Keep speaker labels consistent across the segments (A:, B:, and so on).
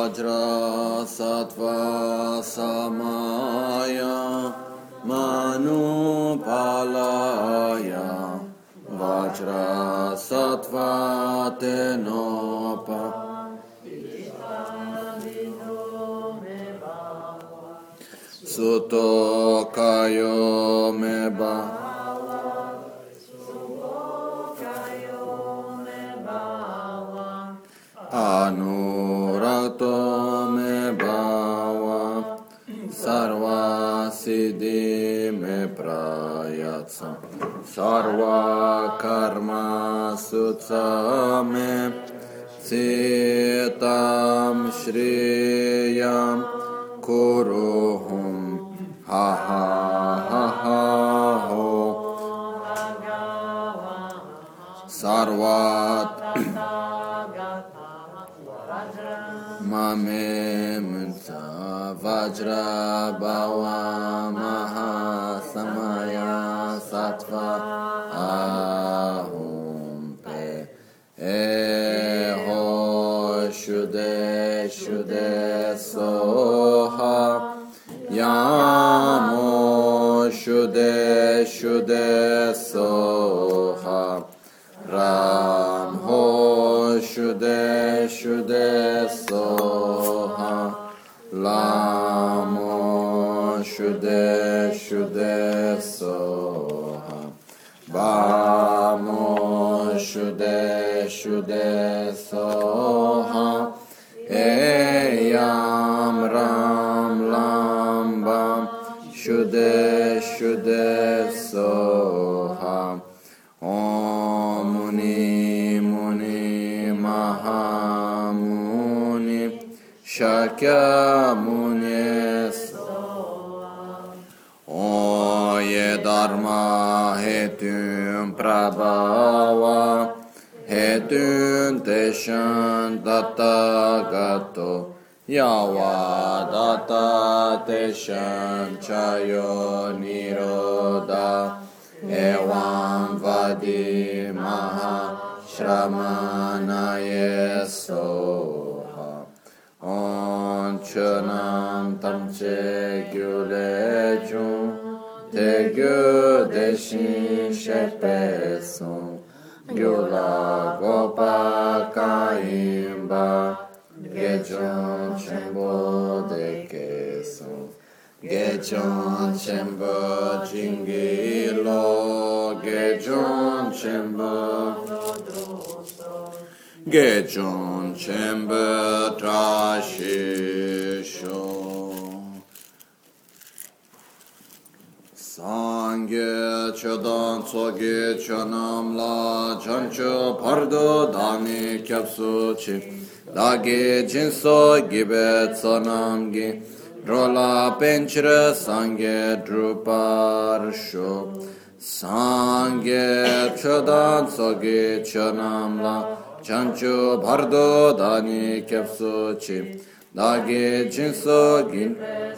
A: Vajra Sattva Samaya Manupalaya Vajra Sattva Tenopa Sutto Kayo Meba Anurakto me bhava sarva siddhi me prayatsa sarva karma sutsa me sitam shriyam kuruhum ha ha ha ha ho sarvat Mame Munsa Vajra Bhava Maha Samaya Sattva Ahum Pe Eho Shude Shude Soha Yamo Shude Shude Soha Ram Ho Shude Shude Soha Lamo Shude Shude Soha Bamo Shude Shude Soha Eyam Ram Lam Bam Shude Shude Soha Om Muni Muni Mahamuni Shakya Muni Oye Dharma Hetun Prabhava Hetun Teshan Tathagato Yava Data Teshan Chayo Niroda Evam Vadi Maha Shramanaye Soha Onchonam Tamche Gyule Jun Te Gyu Deshin Shepeson Gyula Gopa Kaimba Gejon Chembo De Keson Gejon Chembo Jingilo Gejon Chembo Gejon Chembo Trashisho Sangye Chodan Tsoge Chonam La Chancho Pardo Dani Kyapsu Chi Dagi Jinso Gibet Sonamgi Rola Penchra Sangye Drupar Sho Sangye Chodan Tsoge Chonam La Chancho Pardo Dani Kyapsu Chi Dagi Jinso Gibet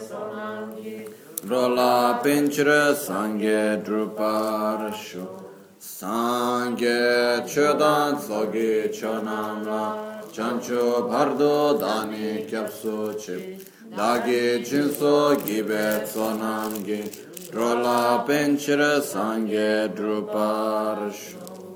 A: Rola Pinchra Sangye Drupar Shu Sangye Chodan Sogi Chonamla Chancho Bardo Dani Kyapsu Chip Dagi Jinso Gibet Sonamgi Rola Pinchra Sangye Drupar Shu.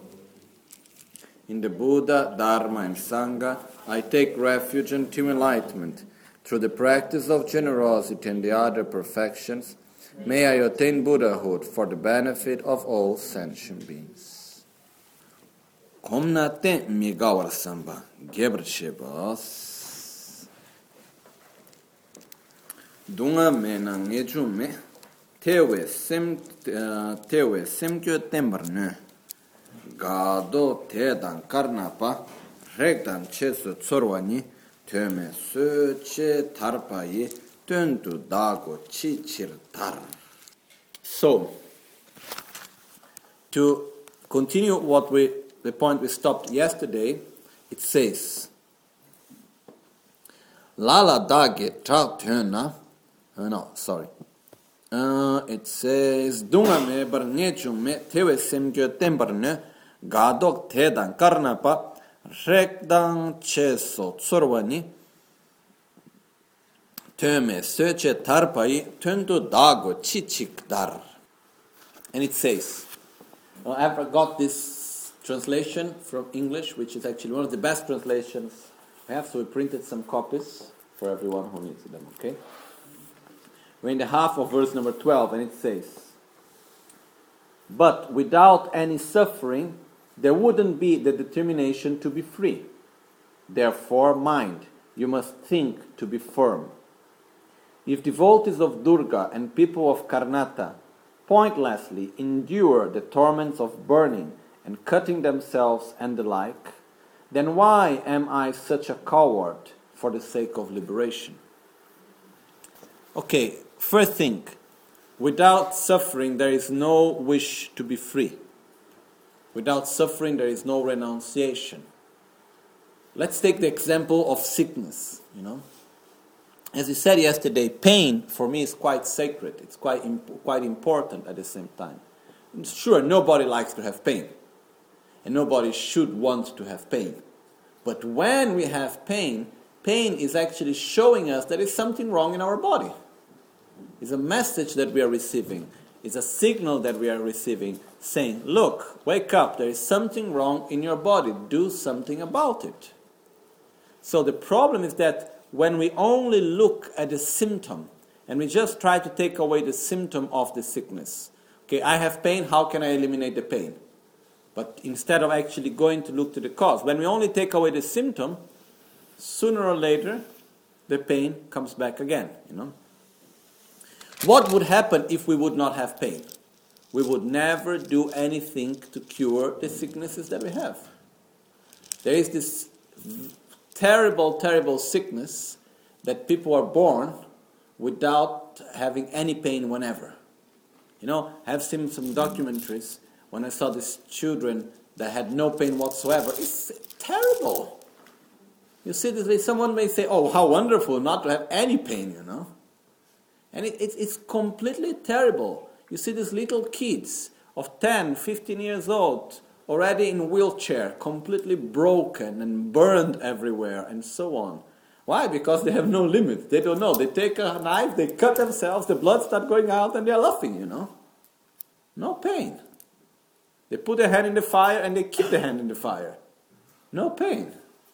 A: In the Buddha, Dharma and Sangha, I take refuge and enlightenment. Through the practice of generosity and the other perfections, may I attain Buddhahood for the benefit of all sentient beings. Komnate migawar samba gebrchebas. Dunga mena ngejume tewe semkyo tembarne gado tedan karnapa regdan chesu tsorwani Töme söche tarpayi döndu dago chichir tar. So, to continue the point we stopped yesterday, it says, Lala dage tra töna, it says, Dunga me barnechum me tewe semgyo tembarne, gadok tedan karnapa, Rekdang cheso tsorwani Töme söche tarpai tönto dago chichik dar. And it says, I've got this translation from English, which is actually one of the best translations I have, so we printed some copies for everyone who needs them, okay? We're in the half of verse number 12, and it says, but without any suffering, there wouldn't be the determination to be free. Therefore, mind, you must think to be firm. If devotees of Durga and people of Karnata pointlessly endure the torments of burning and cutting themselves and the like, then why am I such a coward for the sake of liberation? Okay, first thing, without suffering there is no wish to be free. Without suffering there is no renunciation. Let's take the example of sickness, As we said yesterday, pain for me is quite sacred. It's quite important at the same time. Sure, nobody likes to have pain. And nobody should want to have pain. But when we have pain, pain is actually showing us that there is something wrong in our body. It's a message that we are receiving. It's a signal that we are receiving saying, look, wake up, there is something wrong in your body. Do something about it. So the problem is that when we only look at the symptom and we just try to take away the symptom of the sickness. Okay, I have pain, how can I eliminate the pain? But instead of actually going to look to the cause, when we only take away the symptom, sooner or later, the pain comes back again, What would happen if we would not have pain? We would never do anything to cure the sicknesses that we have. There is this terrible, terrible sickness that people are born without having any pain whenever. I've seen some documentaries when I saw these children that had no pain whatsoever. It's terrible. You see this, someone may say, oh, how wonderful not to have any pain, And it's completely terrible. You see these little kids of 10, 15 years old, already in wheelchair, completely broken and burned everywhere, and so on. Why? Because they have no limit. They don't know. They take a knife, they cut themselves, the blood starts going out, and they're laughing, No pain. They put their hand in the fire, and they keep their hand in the fire. No pain.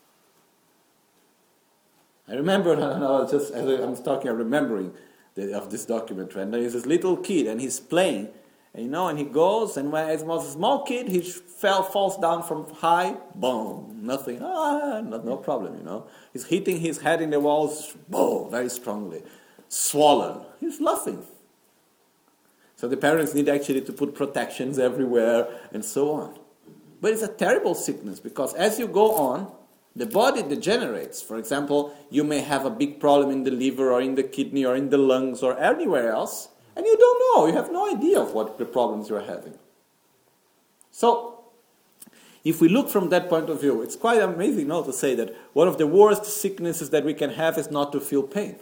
A: I remember, as I'm talking, I'm remembering of this documentary, and there is this little kid, and he's playing, and he goes, and when he was a small kid, he falls down from high, boom, nothing, no problem, He's hitting his head in the walls, boom, very strongly, swollen. He's laughing. So the parents need actually to put protections everywhere, and so on. But it's a terrible sickness, because as you go on, the body degenerates. For example, you may have a big problem in the liver, or in the kidney, or in the lungs, or anywhere else, and you don't know. You have no idea of what the problems you're having. So, if we look from that point of view, it's quite amazing to say that one of the worst sicknesses that we can have is not to feel pain.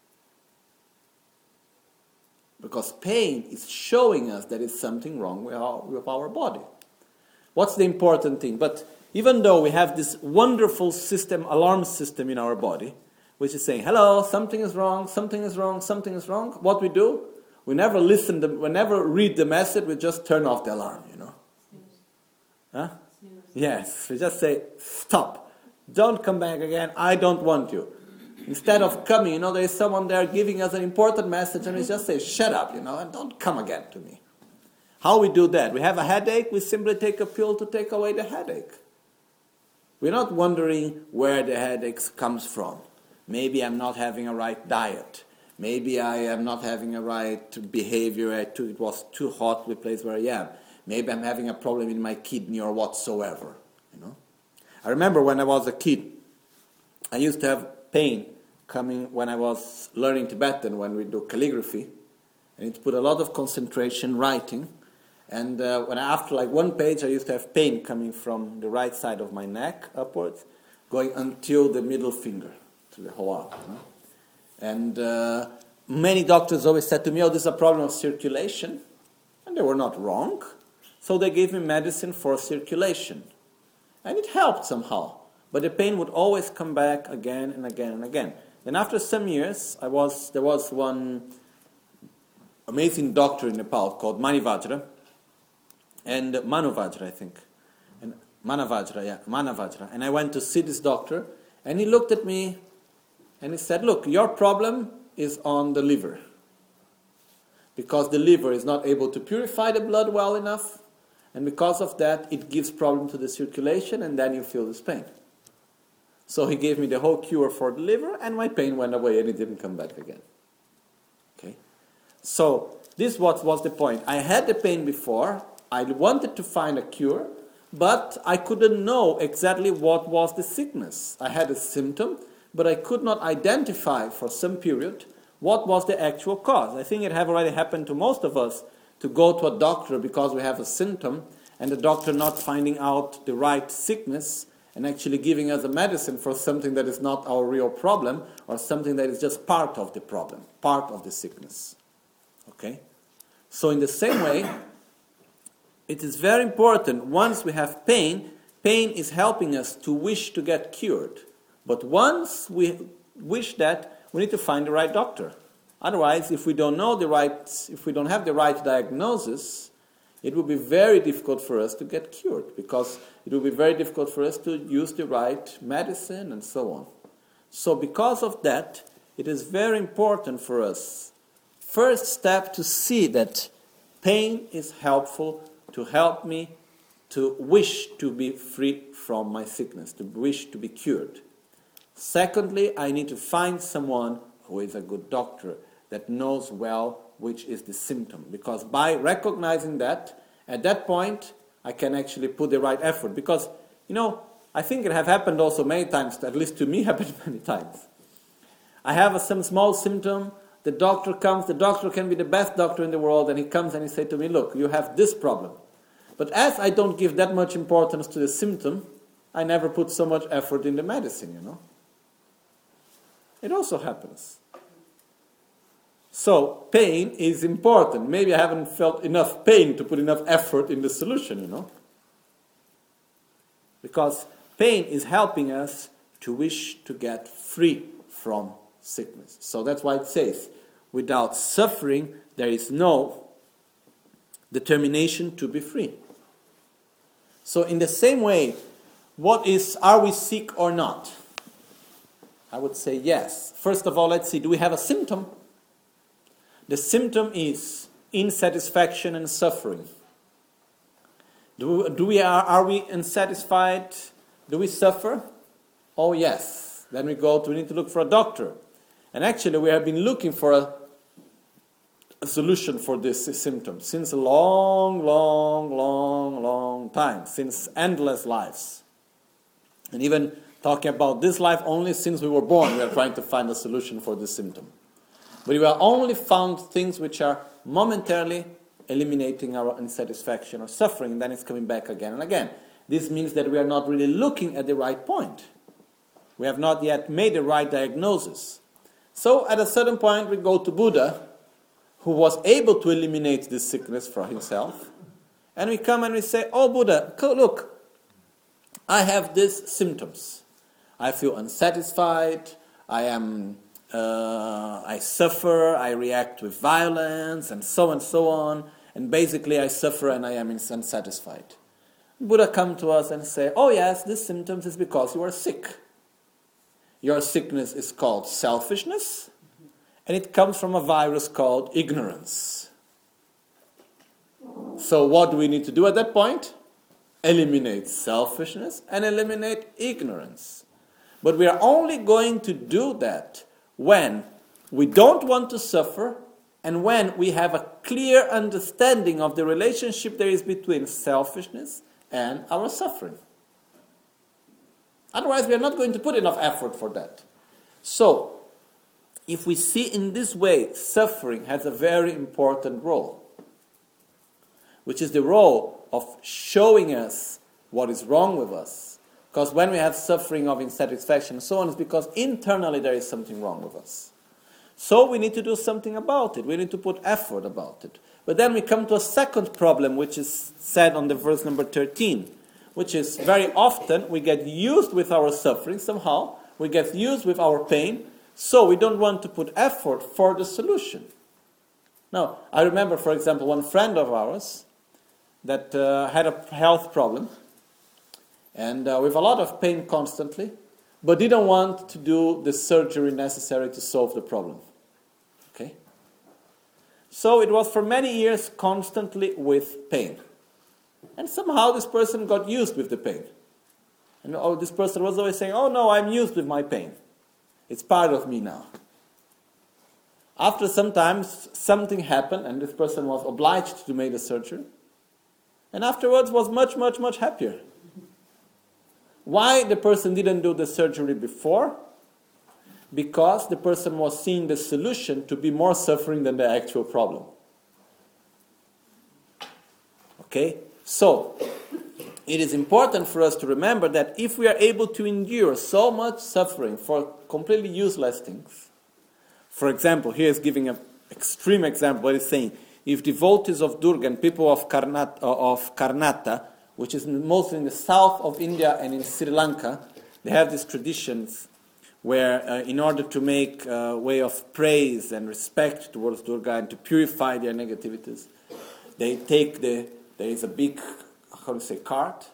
A: Because pain is showing us that there's something wrong with our body. What's the important thing? But even though we have this wonderful system, alarm system in our body, which is saying, hello, something is wrong, something is wrong, something is wrong, what we do? We never we never read the message, we just turn off the alarm, Huh? Yes, we just say, stop, don't come back again, I don't want you. Instead of coming, there is someone there giving us an important message, and we just say, shut up, and don't come again to me. How we do that? We have a headache, we simply take a pill to take away the headache. We're not wondering where the headache comes from. Maybe I'm not having a right diet. Maybe I am not having a right behavior. It was too hot the place where I am. Maybe I'm having a problem in my kidney or whatsoever. I remember when I was a kid, I used to have pain coming when I was learning Tibetan, when we do calligraphy. And it put a lot of concentration writing. And after one page, I used to have pain coming from the right side of my neck upwards, going until the middle finger, to the whole arm. And many doctors always said to me, this is a problem of circulation. And they were not wrong. So they gave me medicine for circulation. And it helped somehow. But the pain would always come back again and again and again.
B: Then after some years, there was one amazing doctor in Nepal called Manivajra, and Manavajra, I think. And Manavajra. And I went to see this doctor, and he looked at me, and he said, look, your problem is on the liver. Because the liver is not able to purify the blood well enough, and because of that, it gives problem to the circulation, and then you feel this pain. So he gave me the whole cure for the liver, and my pain went away, and it didn't come back again. Okay? So, this was the point. I had the pain before, I wanted to find a cure, but I couldn't know exactly what was the sickness. I had a symptom, but I could not identify for some period what was the actual cause. I think it have already happened to most of us to go to a doctor because we have a symptom, and the doctor not finding out the right sickness and actually giving us a medicine for something that is not our real problem, or something that is just part of the problem, part of the sickness. Okay? So in the same way, it is very important, once we have pain, pain is helping us to wish to get cured. But once we wish that, we need to find the right doctor. Otherwise, if we don't have the right diagnosis, it will be very difficult for us to get cured, because it will be very difficult for us to use the right medicine and so on. So because of that, it is very important for us, first step, to see that pain is helpful to help me to wish to be free from my sickness, to wish to be cured. Secondly, I need to find someone who is a good doctor that knows well which is the symptom. Because by recognizing that, at that point, I can actually put the right effort. Because, I think it have happened also many times, at least to me happened many times. I have some small symptom, the doctor comes, the doctor can be the best doctor in the world, and he comes and he says to me, look, you have this problem. But as I don't give that much importance to the symptom, I never put so much effort in the medicine, It also happens. So, pain is important. Maybe I haven't felt enough pain to put enough effort in the solution, Because pain is helping us to wish to get free from sickness. So that's why it says, without suffering, there is no determination to be free. So in the same way, are we sick or not? I would say yes. First of all, let's see, do we have a symptom? The symptom is insatisfaction and suffering. Are we unsatisfied? Do we suffer? Oh yes. Then we need to look for a doctor. And actually we have been looking for a solution for this symptom since a long time, since endless lives. And even talking about this life, only since we were born, we are trying to find a solution for this symptom. But we have only found things which are momentarily eliminating our unsatisfaction or suffering, and then it's coming back again and again. This means that we are not really looking at the right point. We have not yet made the right diagnosis. So at a certain point we go to Buddha, who was able to eliminate this sickness for himself, and we come and we say, oh Buddha, look, I have these symptoms. I feel unsatisfied, I suffer, I react with violence, and so on, and basically I suffer and I am unsatisfied. Buddha come to us and say, oh yes, this symptoms is because you are sick. Your sickness is called selfishness, and it comes from a virus called ignorance. So what do we need to do at that point? Eliminate selfishness and eliminate ignorance. But we are only going to do that when we don't want to suffer and when we have a clear understanding of the relationship there is between selfishness and our suffering. Otherwise, we are not going to put enough effort for that. So, if we see in this way, suffering has a very important role, which is the role of showing us what is wrong with us. Because when we have suffering of insatisfaction and so on, it's because internally there is something wrong with us. So we need to do something about it. We need to put effort about it. But then we come to a second problem, which is said on the verse number 13, which is very often we get used with our suffering somehow. We get used with our pain, So we don't want to put effort for the solution. Now, I remember, for example, one friend of ours that had a health problem and with a lot of pain constantly, but didn't want to do the surgery necessary to solve the problem. Okay? So it was for many years constantly with pain. And somehow this person got used with the pain. And this person was always saying, oh no, I'm used with my pain. It's part of me now. After some time, something happened and this person was obliged to make the surgery. And afterwards was much, much, much happier. Why the person didn't do the surgery before? Because the person was seeing the solution to be more suffering than the actual problem. Okay? So, it is important for us to remember that if we are able to endure so much suffering for completely useless things, for example, here is giving an extreme example, but it's saying, if devotees of Durga and people of Karnataka, which is mostly in the south of India and in Sri Lanka, they have these traditions where in order to make a way of praise and respect towards Durga and to purify their negativities, they take there is a big, cart,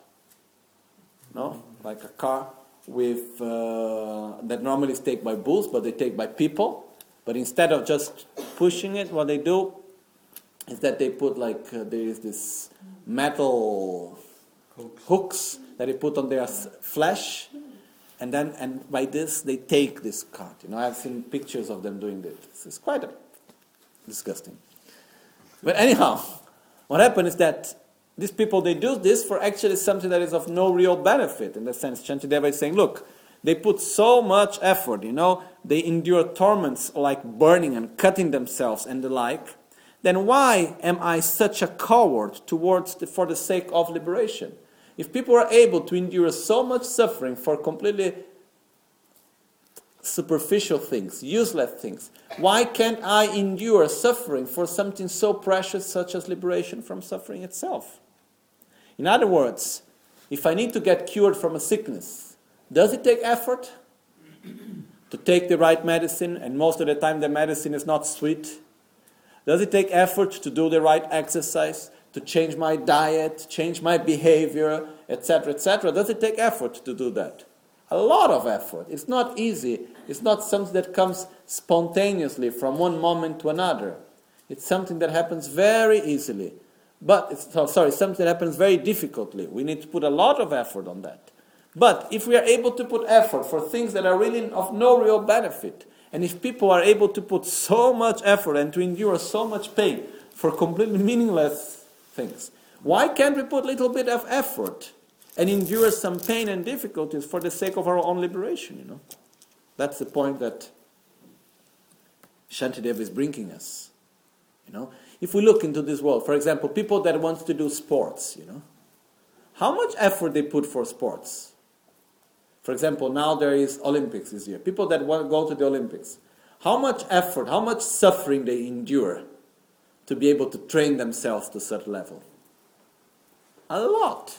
B: no? Like a car with, that normally is taken by bulls, but they take by people. But instead of just pushing it, what they do is that they put there is this metal hooks that they put on their flesh, and by this they take this cart. I've seen pictures of them doing this. It's quite disgusting. But anyhow, what happened is that these people, they do this for actually something that is of no real benefit. In the sense, Shantideva is saying, look, they put so much effort, they endure torments like burning and cutting themselves and the like. Then why am I such a coward for the sake of liberation? If people are able to endure so much suffering for completely superficial things, useless things, why can't I endure suffering for something so precious such as liberation from suffering itself? In other words, if I need to get cured from a sickness, does it take effort to take the right medicine, and most of the time the medicine is not sweet? Does it take effort to do the right exercise, to change my diet, change my behavior, etc., etc.? Does it take effort to do that? A lot of effort. It's not easy. It's not something that comes spontaneously from one moment to another. It's something that happens very easily. But, something that happens very difficultly. We need to put a lot of effort on that. But if we are able to put effort for things that are really of no real benefit, and if people are able to put so much effort and to endure so much pain for completely meaningless things, why can't we put a little bit of effort and endure some pain and difficulties for the sake of our own liberation, That's the point that Shantideva is bringing us, If we look into this world, for example, people that want to do sports, how much effort they put for sports? For example, now there is Olympics this year. People that want to go to the Olympics, how much effort, how much suffering they endure to be able to train themselves to such level? A lot.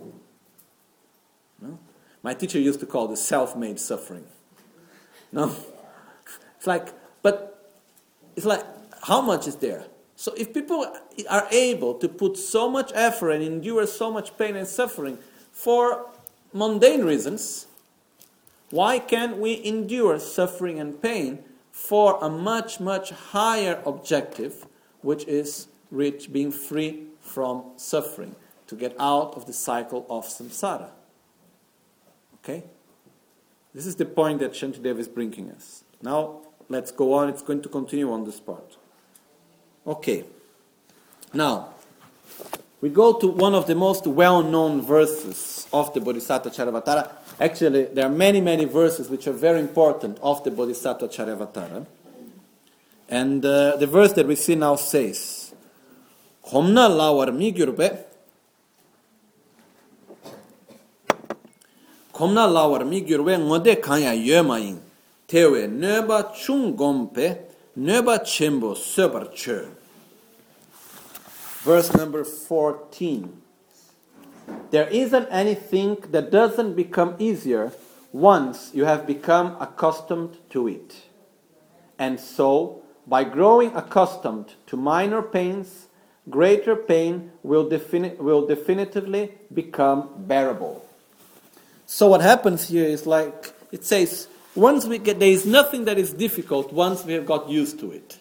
B: No? My teacher used to call this self-made suffering. No? It's like, how much is there? So if people are able to put so much effort and endure so much pain and suffering for mundane reasons, why can't we endure suffering and pain for a much, much higher objective, which is being free from suffering, to get out of the cycle of samsara? Okay? This is the point that Shantideva is bringing us. Now, let's go on. It's going to continue on this part. Okay. Now, we go to one of the most well-known verses of the Bodhisattva Charyavatara. Actually, there are many, many verses which are very important of the Bodhisattva Charyavatara. And the verse that we see now says, Khomna lawar mi gyurbe, Khomna lawar mi gyurbe ngode kanya yömayin, tewe nöba chung gompe, nöba chembo söbar chö. Verse number 14. There isn't anything that doesn't become easier once you have become accustomed to it. And so, by growing accustomed to minor pains, greater pain will definitively become bearable. So what happens here is like, it says, once we get, there is nothing that is difficult once we have got used to it.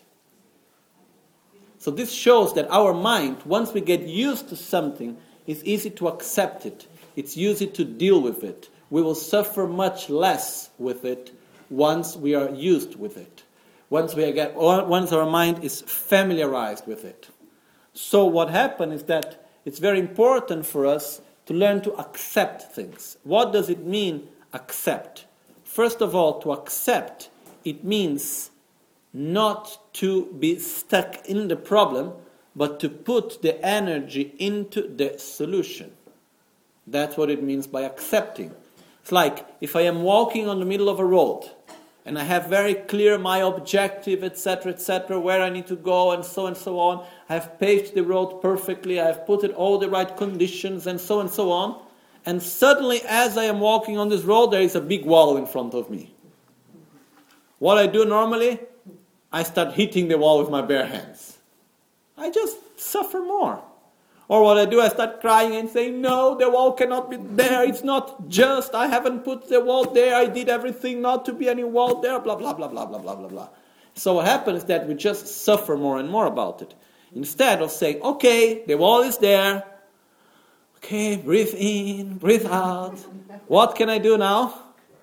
B: So this shows that our mind, once we get used to something, it's easy to accept it. It's easy to deal with it. We will suffer much less with it once we are used with it. Once our mind is familiarized with it. So what happens is that it's very important for us to learn to accept things. What does it mean, accept? First of all, to accept, it means not to be stuck in the problem, but to put the energy into the solution. That's what it means by accepting. It's like if I am walking on the middle of a road, and I have very clear my objective, etc., where I need to go, and so on. I have paved the road perfectly, I have put it all the right conditions, and so on. And suddenly, as I am walking on this road, there is a big wall in front of me. What I do normally, I start hitting the wall with my bare hands. I just suffer more. Or what I do, I start crying and saying, no, the wall cannot be there. It's not just. I haven't put the wall there. I did everything not to be any wall there. Blah, blah, blah, blah, blah, blah, blah, blah. So what happens is that we just suffer more and more about it. Instead of saying, okay, the wall is there. Okay, breathe in, breathe out. What can I do now?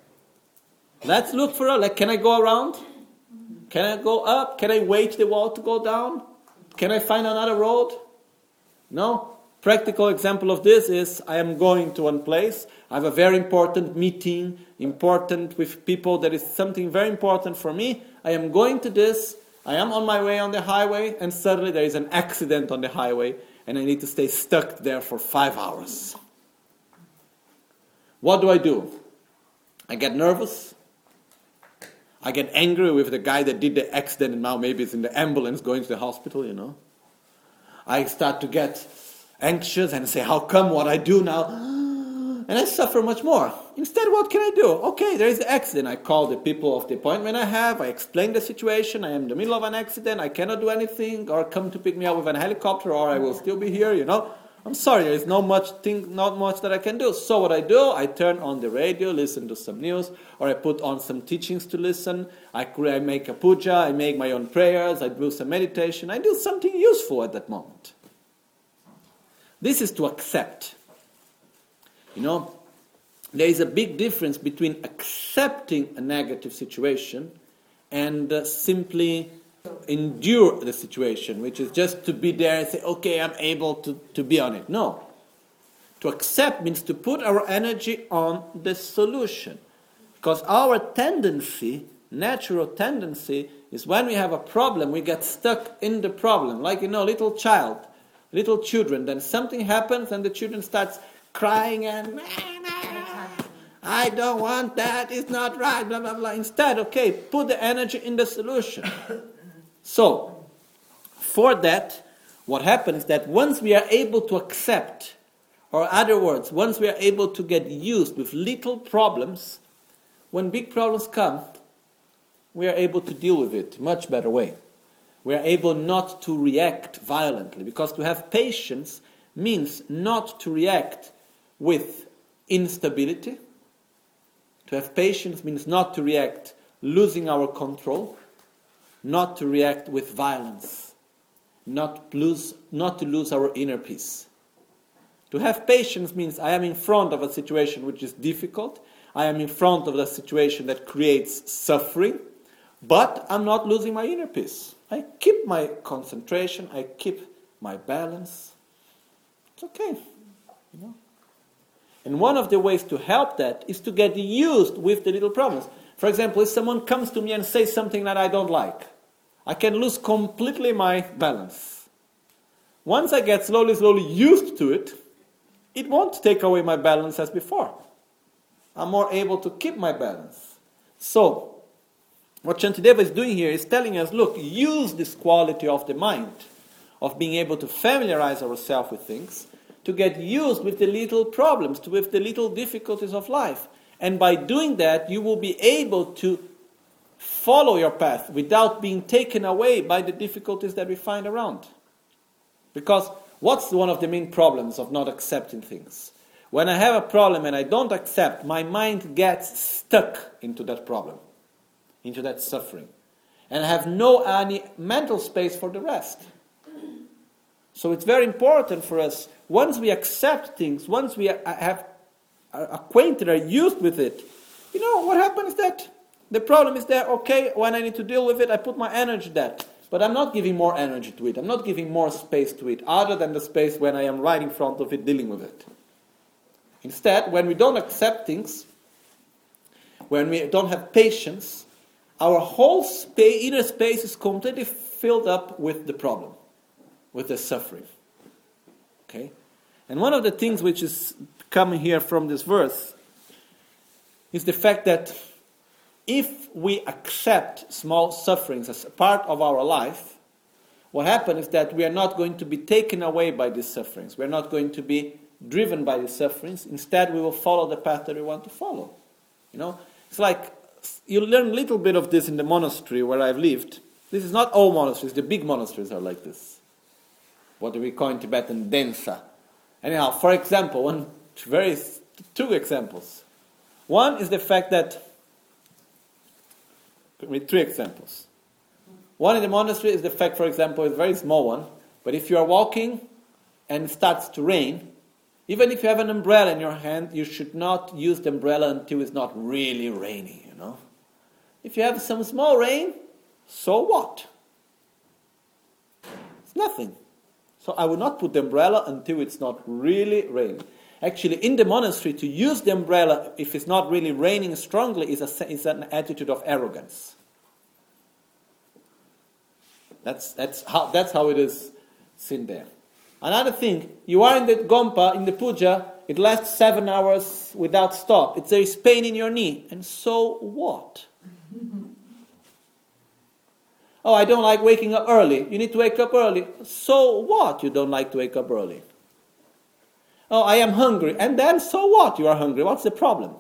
B: Let's look for it. Like, can I go around? Can I go up? Can I wait the wall to go down? Can I find another road? No. Practical example of this is I am going to one place. I have a very important meeting, important with people. That is something very important for me. I am going to this. I am on my way on the highway, and suddenly there is an accident on the highway, and I need to stay stuck there for 5 hours. What do? I get nervous. I get angry with the guy that did the accident, and now maybe it's in the ambulance going to the hospital, I start to get anxious and say, how come what I do now? And I suffer much more. Instead, what can I do? Okay, there is an accident. I call the people of the appointment I have. I explain the situation. I am in the middle of an accident. I cannot do anything. Or come to pick me up with a helicopter, or I will still be here, I'm sorry, there is not much that I can do. So what I do, I turn on the radio, listen to some news, or I put on some teachings to listen. I make a puja, I make my own prayers, I do some meditation. I do something useful at that moment. This is to accept. There is a big difference between accepting a negative situation and simply endure the situation, which is just to be there and say, okay, I'm able to be on it. No. To accept means to put our energy on the solution. Because our tendency, natural tendency, is when we have a problem, we get stuck in the problem. Like, little children, then something happens and the children starts crying and, I don't want that, it's not right, blah, blah, blah. Instead, okay, put the energy in the solution. So, for that, what happens is that once we are able to accept, or other words, once we are able to get used with little problems, when big problems come, we are able to deal with it in a much better way. We are able not to react violently, because to have patience means not to react with instability. To have patience means not to react losing our control, not to react with violence, not to lose our inner peace. To have patience means I am in front of a situation which is difficult, I am in front of a situation that creates suffering, but I'm not losing my inner peace. I keep my concentration, I keep my balance. It's okay. And one of the ways to help that is to get used with the little problems. For example, if someone comes to me and says something that I don't like, I can lose completely my balance. Once I get slowly used to it, it won't take away my balance as before. I'm more able to keep my balance. So, what Shantideva is doing here is telling us, look, use this quality of the mind, of being able to familiarize ourselves with things, to get used with the little problems, with the little difficulties of life. And by doing that, you will be able to follow your path without being taken away by the difficulties that we find around. Because what's one of the main problems of not accepting things? When I have a problem and I don't accept, my mind gets stuck into that problem, into that suffering. And I have no any mental space for the rest. So it's very important for us, once we accept things, once we are acquainted, are used with it, what happens is that the problem is there, okay, when I need to deal with it, I put my energy there. But I'm not giving more energy to it. I'm not giving more space to it, other than the space when I am right in front of it, dealing with it. Instead, when we don't accept things, when we don't have patience, our whole inner space is completely filled up with the problem, with the suffering. Okay? And one of the things which is coming here from this verse is the fact that if we accept small sufferings as a part of our life, what happens is that we are not going to be taken away by these sufferings. We are not going to be driven by these sufferings. Instead, we will follow the path that we want to follow. It's like you learn a little bit of this in the monastery where I've lived. This is not all monasteries. The big monasteries are like this. What we call in Tibetan densa. Anyhow, for example, two examples. One is the fact that, with 3 examples. One in the monastery is the fact, for example, it's a very small one, but if you are walking and it starts to rain, even if you have an umbrella in your hand, you should not use the umbrella until it's not really raining, If you have some small rain, so what? It's nothing. So I will not put the umbrella until it's not really raining. Actually, in the monastery, to use the umbrella if it's not really raining strongly is an attitude of arrogance. That's how it is seen there. Another thing, you are in the Gompa, in the puja, it lasts 7 hours without stop. There is pain in your knee. And so what? Oh, I don't like waking up early. You need to wake up early. So what? You don't like to wake up early. Oh, I am hungry. And then so what? You are hungry. What's the problem?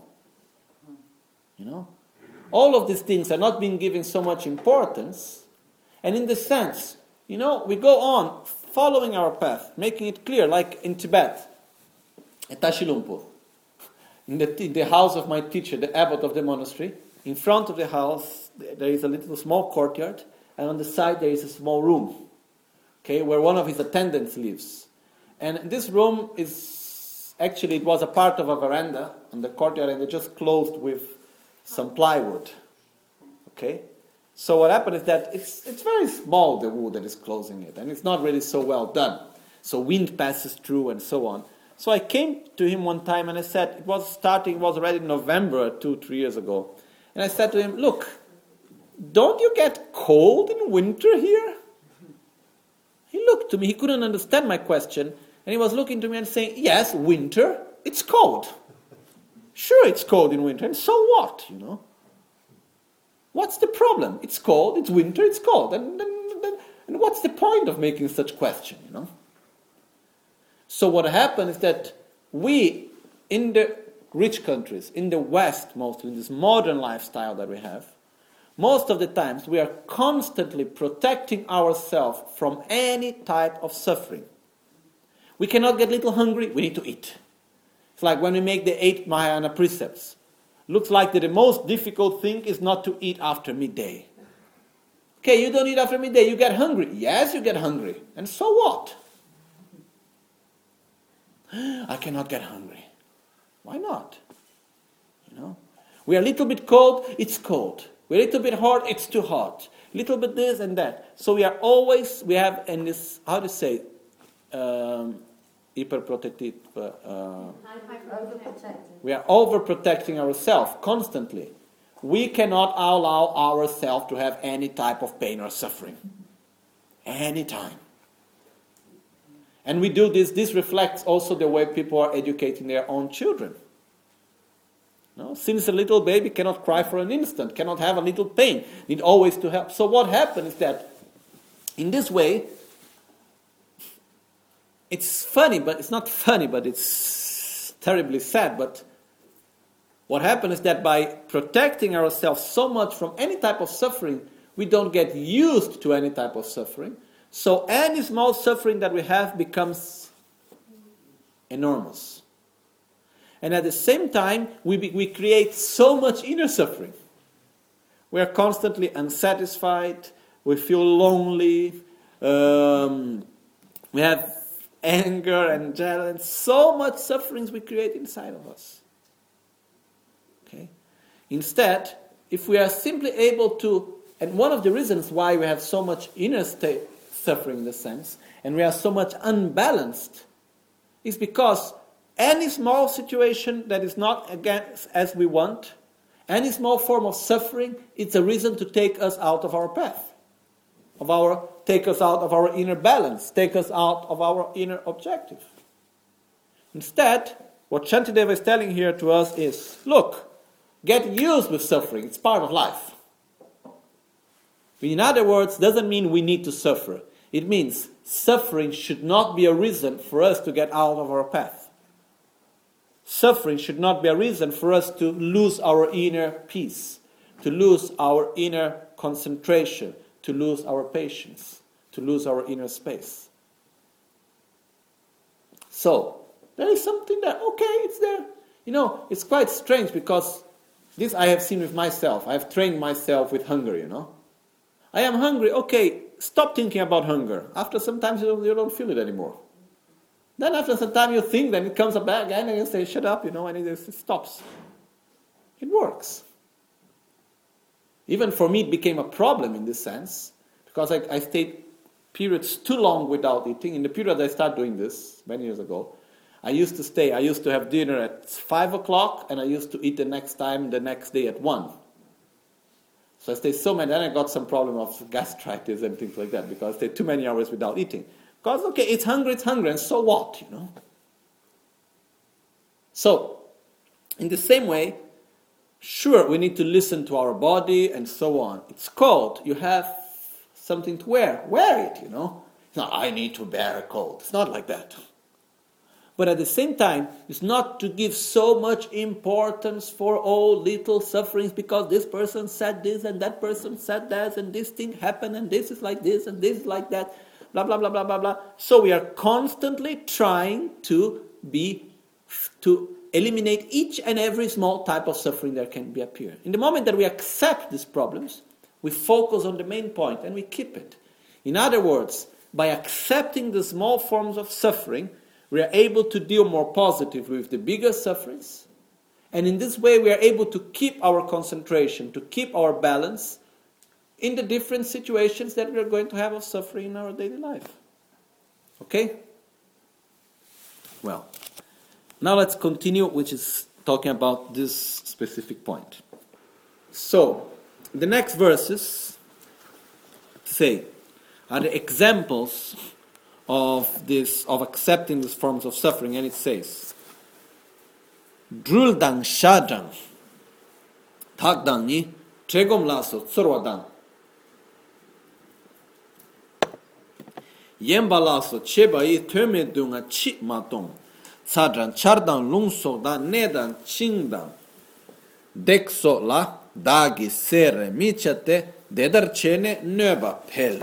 B: All of these things are not being given so much importance. And in the sense, we go on following our path, making it clear, like in Tibet, at Tashilhunpo, in the house of my teacher, the abbot of the monastery. In front of the house, there is a little small courtyard, and on the side there is a small room, okay, where one of his attendants lives. And this room it was a part of a veranda on the courtyard, and they just closed with some plywood, okay? So what happened is that it's very small, the wood that is closing it, and it's not really so well done. So wind passes through and so on. So I came to him one time and I said, it was already November 2-3 years ago. And I said to him, look, don't you get cold in winter here? He looked to me, he couldn't understand my question, and he was looking to me and saying, yes, winter, it's cold. Sure, it's cold in winter, and so what, What's the problem? It's cold, it's winter, it's cold. And what's the point of making such question, So what happened is that we, in the rich countries, in the West mostly, in this modern lifestyle that we have, most of the times we are constantly protecting ourselves from any type of suffering. We cannot get a little hungry, we need to eat. It's like when we make the 8 Mahayana precepts. Looks like that the most difficult thing is not to eat after midday. Okay, you don't eat after midday, you get hungry. Yes, you get hungry. And so what? I cannot get hungry. Why not? We are a little bit cold, it's cold. We're a little bit hot, it's too hot. A little bit this and that. So we have in this, how to say, hyperprotective. We are overprotecting ourselves constantly. We cannot allow ourselves to have any type of pain or suffering. Anytime. And we do this. This reflects also the way people are educating their own children. Since a little baby cannot cry for an instant, cannot have a little pain, need always to help. So what happens is that in this way, it's funny, but it's not funny, but it's terribly sad. But What happens is that by protecting ourselves so much from any type of suffering, we don't get used to any type of suffering. So any small suffering that we have becomes enormous. And at the same time, we create so much inner suffering. We are constantly unsatisfied, we feel lonely, we have anger and jealousy, and so much sufferings we create inside of us. Okay? Instead, if we are simply able to, and one of the reasons why we have so much inner suffering in the sense, and we are so much unbalanced, is because any small situation that is not against as we want, any small form of suffering, it's a reason to take us out of our path, take us out of our inner balance, take us out of our inner objective. Instead, what Shantideva is telling here to us is, look, get used with suffering, it's part of life. In other words, doesn't mean we need to suffer. It means suffering should not be a reason for us to get out of our path. Suffering should not be a reason for us to lose our inner peace, to lose our inner concentration, to lose our patience, to lose our inner space. So, there is something that, okay, it's there. It's quite strange because this I have seen with myself. I have trained myself with hunger, I am hungry, okay, stop thinking about hunger. After some time you don't feel it anymore. Then after some time you think, then it comes back again and you say, shut up, and it stops. It works. Even for me it became a problem in this sense, because I stayed periods too long without eating. In the period I started doing this, many years ago, I used to have dinner at 5 o'clock and I used to eat the next day at 1. So I stayed so many, then I got some problem of gastritis and things like that, because I stayed too many hours without eating. Because, okay, it's hungry, and so what, So, in the same way, sure, we need to listen to our body and so on. It's cold, you have something to wear it, It's not, I need to bear a cold. It's not like that. But at the same time, it's not to give so much importance for all little sufferings because this person said this and that person said that and this thing happened and this is like this and this is like that, blah, blah, blah, blah, blah, blah. So we are constantly trying to eliminate each and every small type of suffering that can appear. In the moment that we accept these problems, we focus on the main point and we keep it. In other words, by accepting the small forms of suffering, we are able to deal more positively with the bigger sufferings. And in this way, we are able to keep our concentration, to keep our balance in the different situations that we are going to have of suffering in our daily life. Okay? Well, now let's continue, which is talking about this specific point. So, the next verses are the examples of accepting these forms of suffering, and it says, Druldang shadang, Tagdang ni tregom laso tsorwadang, Yemba laso chebai töme dunga chi matong, Tsadran chardang lungso da nedan chingdang, Dekso la dagi sere michate dedarchene nöba pel.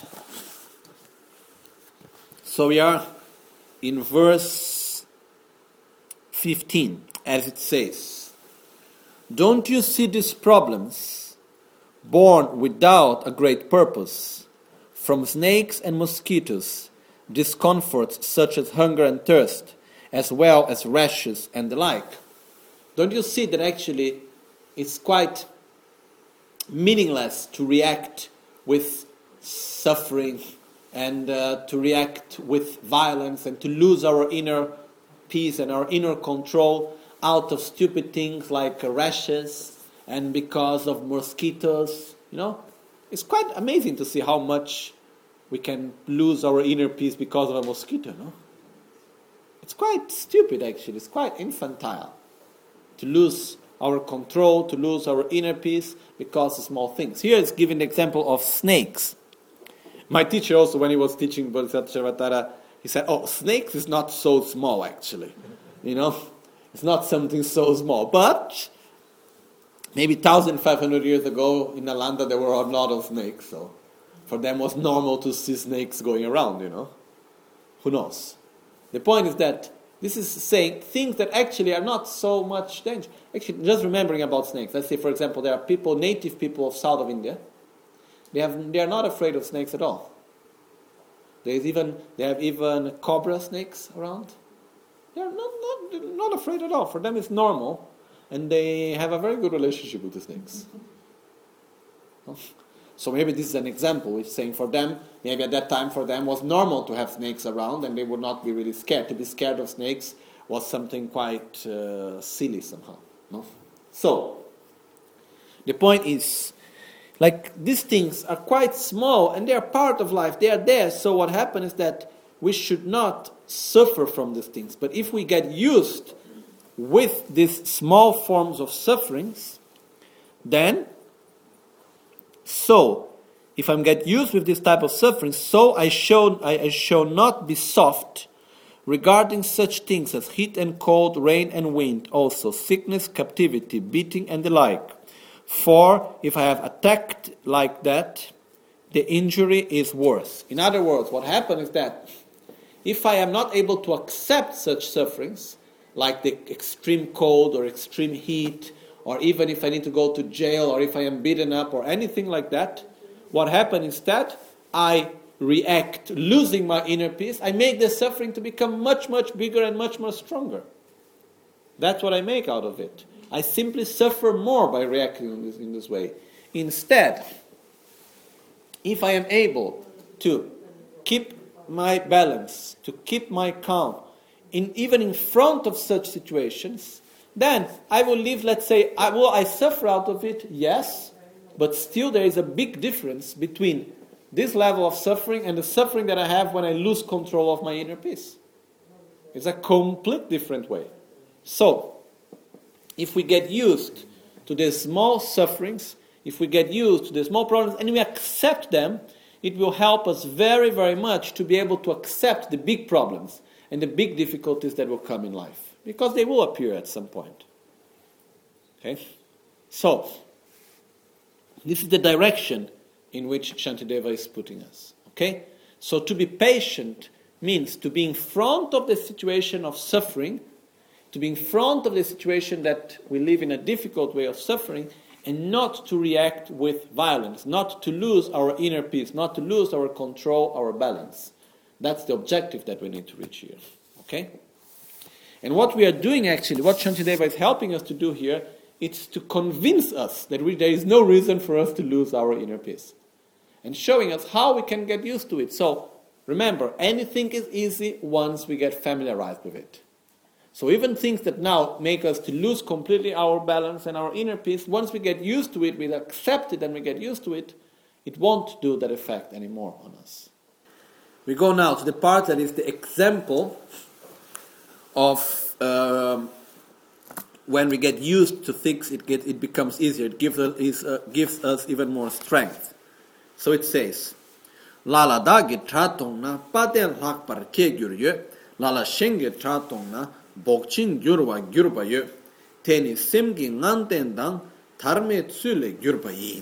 B: So we are in verse 15, as it says, Don't you see these problems, born without a great purpose, from snakes and mosquitoes, discomforts such as hunger and thirst, as well as rashes and the like? Don't you see that actually it's quite meaningless to react with suffering and to react with violence and to lose our inner peace and our inner control out of stupid things like rashes and because of mosquitoes, It's quite amazing to see how much we can lose our inner peace because of a mosquito, It's quite stupid actually, it's quite infantile to lose our control, to lose our inner peace because of small things. Here it's giving the example of snakes. My teacher also, when he was teaching Bodhisattva Charvatara, he said, snakes is not so small actually. It's not something so small. But maybe 1,500 years ago in Nalanda there were a lot of snakes, so for them it was normal to see snakes going around, Who knows? The point is that this is saying things that actually are not so much danger. Actually, just remembering about snakes. Let's say, for example, there are native people of south of India. They are not afraid of snakes at all. They have even cobra snakes around. They are not afraid at all. For them it's normal, and they have a very good relationship with the snakes. So maybe this is an example which is saying for them, maybe at that time for them was normal to have snakes around and they would not be really scared. To be scared of snakes was something quite silly somehow. No? So, the point is, like these things are quite small and they are part of life, they are there. So what happens is that we should not suffer from these things. But if we get used with these small forms of sufferings, then if I get used with this type of suffering, I shall not be soft regarding such things as heat and cold, rain and wind, also sickness, captivity, beating, and the like. For if I have attacked like that, the injury is worse. In other words, what happens is that if I am not able to accept such sufferings, like the extreme cold or extreme heat, or even if I need to go to jail, or if I am beaten up, or anything like that, what happens instead? I react, losing my inner peace. I make the suffering to become much, much bigger and much more stronger. That's what I make out of it. I simply suffer more by reacting in this way. Instead, if I am able to keep my balance, to keep my calm, even in front of such situations, then I will live, let's say, I suffer out of it, yes, but still there is a big difference between this level of suffering and the suffering that I have when I lose control of my inner peace. It's a complete different way. So, if we get used to the small sufferings, if we get used to the small problems and we accept them, it will help us very, very much to be able to accept the big problems and the big difficulties that will come in life. Because they will appear at some point. Okay? So, this is the direction in which Shantideva is putting us. Okay? So to be patient means to be in front of the situation of suffering, to be in front of the situation that we live in a difficult way of suffering, and not to react with violence, not to lose our inner peace, not to lose our control, our balance. That's the objective that we need to reach here. Okay? And what we are doing actually, what Shantideva is helping us to do here, it's to convince us that there is no reason for us to lose our inner peace. And showing us how we can get used to it. So, remember, anything is easy once we get familiarized with it. So even things that now make us to lose completely our balance and our inner peace, once we get used to it, we accept it and we get used to it, it won't do that effect anymore on us. We go now to the part that is the example of when we get used to things, it becomes easier. It gives us even more strength. So it says, Lala dagi tratong na padel hak par ke gyurye, Lala shenge tratong na bokchin gyurba ye, Teni simgi ngantendang tarme tsule gyurba yin.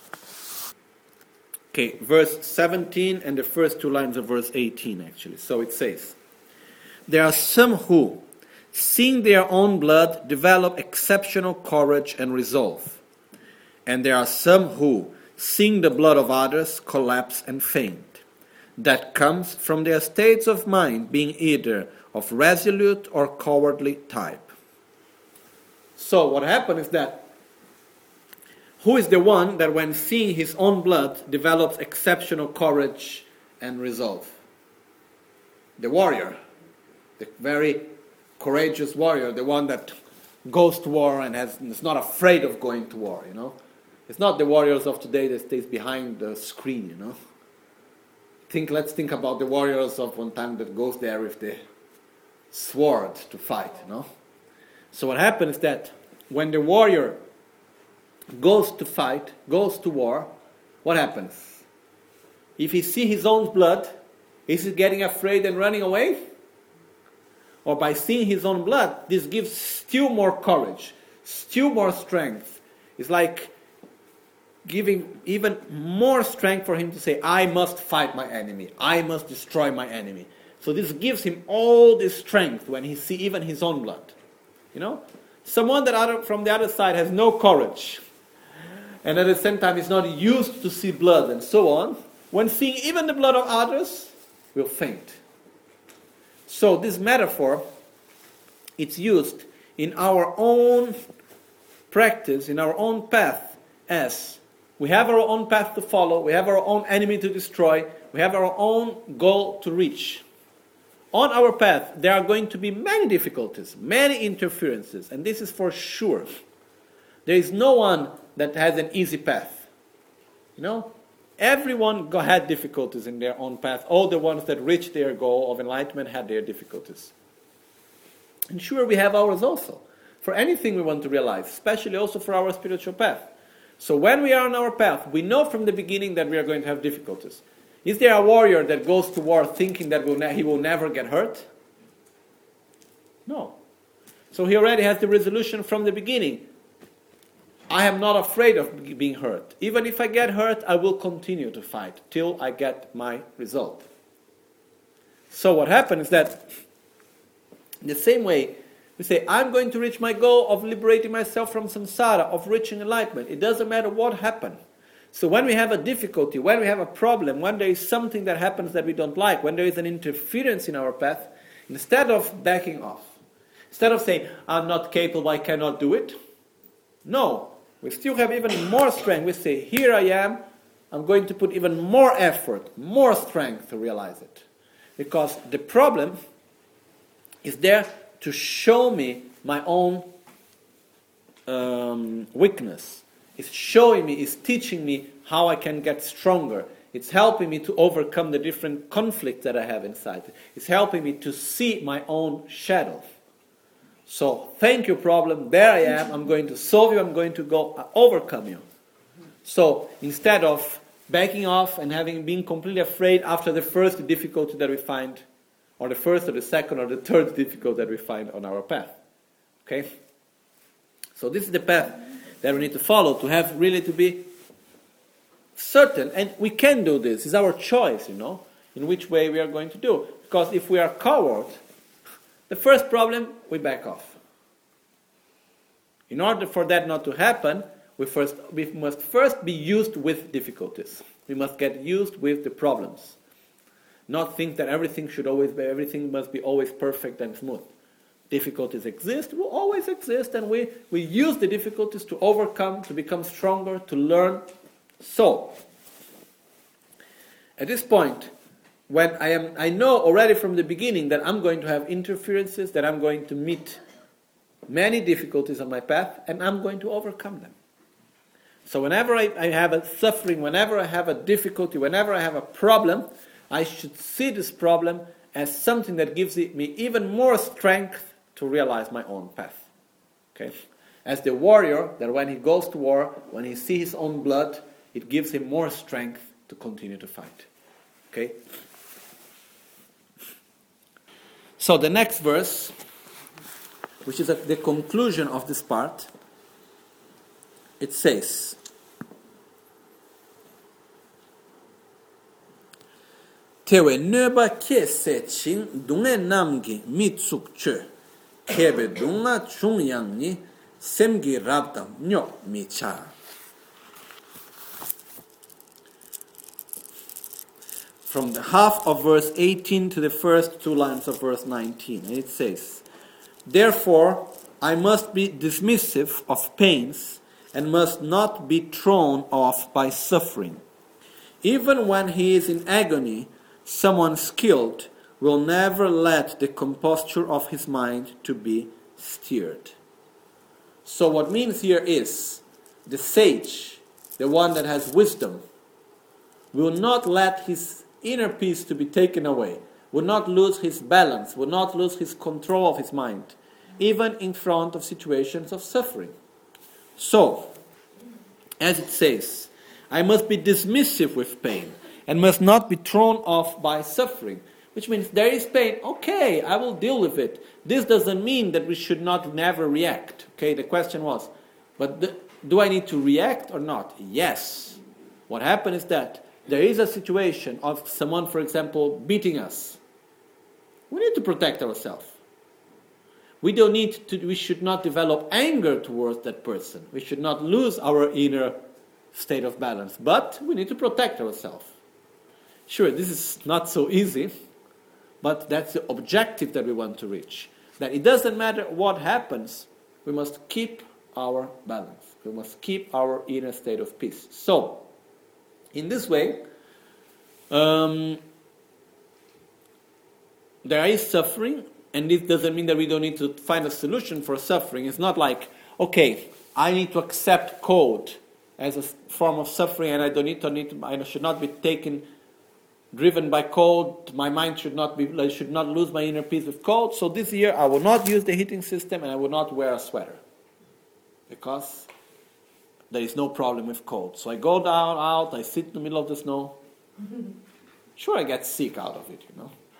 B: Okay, verse 17 and the first two lines of verse 18 actually. So it says, there are some who, seeing their own blood, develop exceptional courage and resolve. And there are some who, seeing the blood of others, collapse and faint. That comes from their states of mind being either of resolute or cowardly type. So what happens is that who is the one that when seeing his own blood develops exceptional courage and resolve? The warrior. The very courageous warrior, the one that goes to war and is not afraid of going to war, It's not the warriors of today that stays behind the screen, Let's think about the warriors of one time that goes there with the sword to fight, So what happens is that when the warrior goes to fight, goes to war, what happens? If he sees his own blood, is he getting afraid and running away? Or by seeing his own blood, this gives still more courage, still more strength. It's like giving even more strength for him to say, I must fight my enemy. I must destroy my enemy. So this gives him all this strength when he sees even his own blood. Someone that from the other side has no courage, and at the same time is not used to see blood and so on, when seeing even the blood of others, will faint. So this metaphor, it's used in our own practice, in our own path, as we have our own path to follow, we have our own enemy to destroy, we have our own goal to reach. On our path, there are going to be many difficulties, many interferences, and this is for sure. There is no one that has an easy path. Everyone had difficulties in their own path. All the ones that reached their goal of enlightenment had their difficulties. And sure, we have ours also. For anything we want to realize, especially also for our spiritual path. So when we are on our path, we know from the beginning that we are going to have difficulties. Is there a warrior that goes to war thinking that he will never get hurt? No. So he already has the resolution from the beginning. I am not afraid of being hurt. Even if I get hurt, I will continue to fight till I get my result. So what happens is that in the same way, we say, I'm going to reach my goal of liberating myself from samsara, of reaching enlightenment. It doesn't matter what happened. So when we have a difficulty, when we have a problem, when there is something that happens that we don't like, when there is an interference in our path, instead of backing off, instead of saying, I'm not capable, I cannot do it, no, we still have even more strength. We say, here I am, I'm going to put even more effort, more strength to realize it. Because the problem is there to show me my own weakness. It's showing me, it's teaching me how I can get stronger. It's helping me to overcome the different conflicts that I have inside. It's helping me to see my own shadow. So, thank you, problem. There I am. I'm going to solve you. I'm going to go overcome you. So, instead of backing off and being completely afraid after the first difficulty that we find, or the first or the second or the third difficulty that we find on our path. Okay? So this is the path that we need to follow to have really to be certain. And we can do this. It's our choice, in which way we are going to do. Because if we are coward, the first problem, we back off. In order for that not to happen, we must first be used with difficulties. We must get used with the problems. Not think that everything must be always perfect and smooth. Difficulties exist, will always exist, and we use the difficulties to overcome, to become stronger, to learn. So, at this point, when I know already from the beginning that I'm going to have interferences, that I'm going to meet many difficulties on my path, and I'm going to overcome them. So whenever I have a suffering, whenever I have a difficulty, whenever I have a problem, I should see this problem as something that gives me even more strength to realize my own path. Okay? As the warrior, that when he goes to war, when he sees his own blood, it gives him more strength to continue to fight. Okay? So the next verse, which is at the conclusion of this part, it says, Tewe nöba ke se ching dunga namgi mitsuk che kebe dunga chung yang ni semgi rabdam nyo micha. From the half of verse 18 to the first 2 lines of verse 19. And it says, Therefore, I must be dismissive of pains and must not be thrown off by suffering. Even when he is in agony, someone skilled will never let the composture of his mind to be stirred. So what means here is, the sage, the one that has wisdom, will not let his inner peace to be taken away, will not lose his balance, will not lose his control of his mind, even in front of situations of suffering. So, as it says, I must be dismissive with pain and must not be thrown off by suffering, which means there is pain, okay, I will deal with it. This doesn't mean that we should not never react. Okay, the question was, but do I need to react or not? Yes. What happened is that there is a situation of someone, for example, beating us. We need to protect ourselves. We should not develop anger towards that person. We should not lose our inner state of balance. But we need to protect ourselves. Sure, this is not so easy, but that's the objective that we want to reach. That it doesn't matter what happens, we must keep our balance. We must keep our inner state of peace. So, in this way, there is suffering, and this doesn't mean that we don't need to find a solution for suffering. It's not like, okay, I need to accept cold as a form of suffering, and I should not be driven by cold. My mind should not lose my inner peace with cold. So this year I will not use the heating system, and I will not wear a sweater, because there is no problem with cold. So I go out, I sit in the middle of the snow. Sure, I get sick out of it,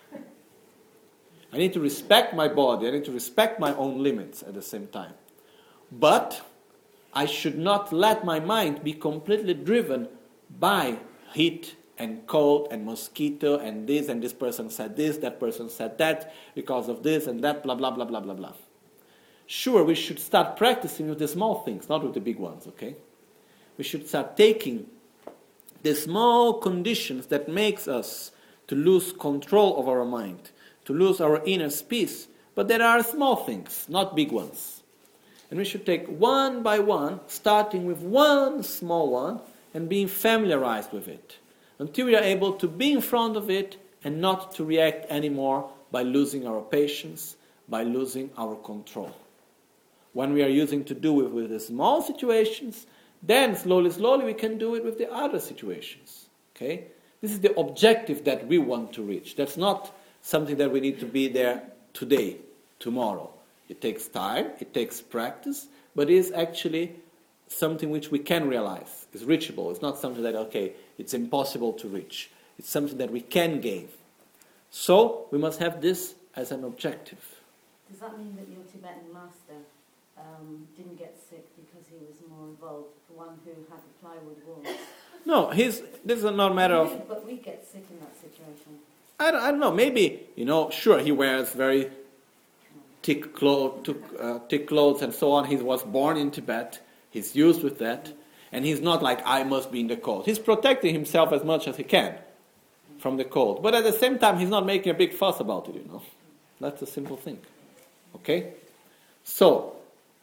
B: I need to respect my body. I need to respect my own limits at the same time. But I should not let my mind be completely driven by heat and cold and mosquito and this person said this, that person said that, because of this and that, blah, blah, blah, blah, blah, blah. Sure, we should start practicing with the small things, not with the big ones, okay? We should start taking the small conditions that makes us to lose control of our mind, to lose our inner peace, but there are small things, not big ones. And we should take one by one, starting with one small one, and being familiarized with it, until we are able to be in front of it and not to react anymore by losing our patience, by losing our control. When we are using to do it with the small situations, then slowly we can do it with the other situations. Okay? This is the objective that we want to reach. That's not something that we need to be there today, tomorrow. It takes time, it takes practice, but it is actually something which we can realize. It's reachable. It's not something that, okay, it's impossible to reach. It's something that we can gain. So, we must have this as an objective.
C: Does that mean that your Tibetan master didn't get sick because he was more involved, the one who had the plywood walls?
B: No, this is not a matter of...
C: But we get sick in that situation.
B: I don't know, maybe, sure, he wears very thick clothes and so on. He was born in Tibet, he's used with that, and he's not like, I must be in the cold. He's protecting himself as much as he can from the cold. But at the same time, he's not making a big fuss about it, That's a simple thing. Okay? So,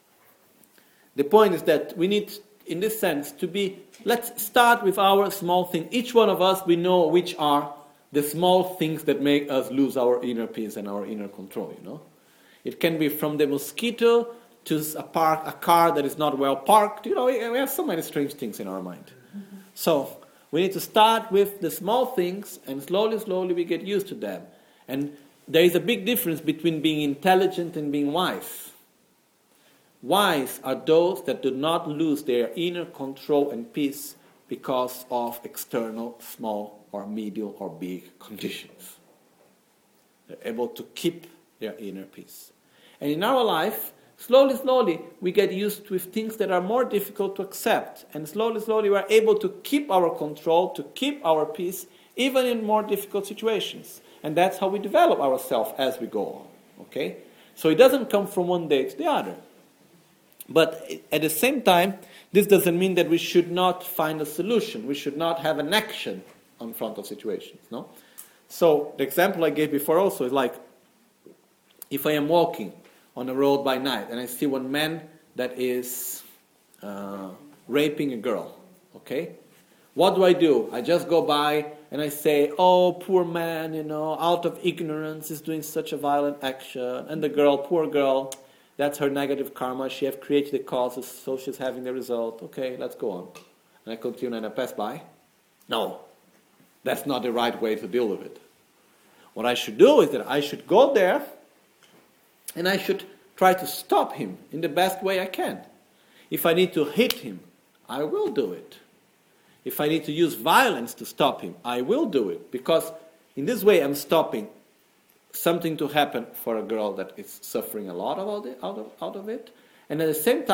B: the point is that we need, in this sense, let's start with our small thing. Each one of us, we know which are the small things that make us lose our inner peace and our inner control, It can be from the mosquito to a car that is not well parked. We have so many strange things in our mind. So, we need to start with the small things, and slowly we get used to them. And there is a big difference between being intelligent and being wise. Wise are those that do not lose their inner control and peace because of external, small or medium or big conditions. They're able to keep their inner peace. And in our life, slowly, we get used with things that are more difficult to accept. And slowly, we are able to keep our control, to keep our peace, even in more difficult situations. And that's how we develop ourselves as we go on. Okay? So it doesn't come from one day to the other. But at the same time, this doesn't mean that we should not find a solution. We should not have an action in front of situations. No? So the example I gave before also is like, if I am walking on a road by night and I see one man that is raping a girl, okay? What do? I just go by and I say, oh, poor man, out of ignorance is doing such a violent action. And the girl, poor girl, that's her negative karma. She has created the causes, so she's having the result. Okay, let's go on. And I continue and I pass by. No, that's not the right way to deal with it. What I should do is that I should go there and I should try to stop him in the best way I can. If I need to hit him, I will do it. If I need to use violence to stop him, I will do it. Because in this way I'm stopping something to happen for a girl that is suffering a lot out of it. And at the same time,